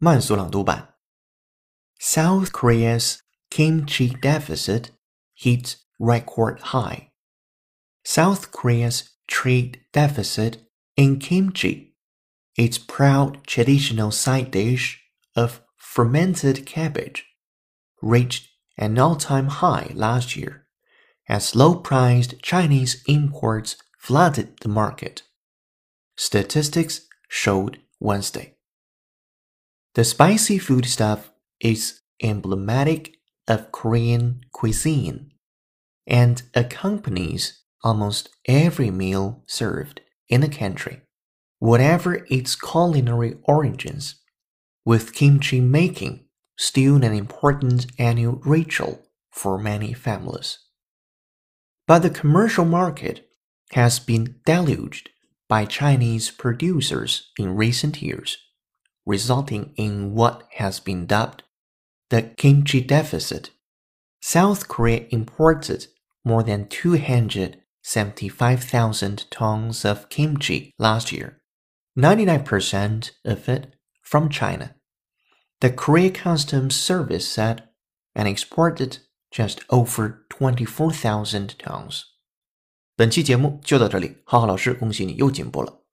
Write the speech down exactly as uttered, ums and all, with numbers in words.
慢速朗读版 South Korea's kimchi deficit hits record high. South Korea's trade deficit in kimchi, its proud traditional side dish of fermented cabbage, reached an all-time high last year as low-priced Chinese imports flooded the market. Statistics showed Wednesday. The spicy foodstuff is emblematic of Korean cuisine and accompanies almost every meal served in the country, whatever its culinary origins, with kimchi making still an important annual ritual for many families. But the commercial market has been deluged by Chinese producers in recent years, resulting in what has been dubbed the kimchi deficit. South Korea imported more than two hundred seventy-five thousand tons of kimchi last year, ninety-nine percent of it from China. The Korea Customs Service said and exported just over twenty-four thousand tons. 本期节目就到这里，浩浩老师恭喜你又进步了。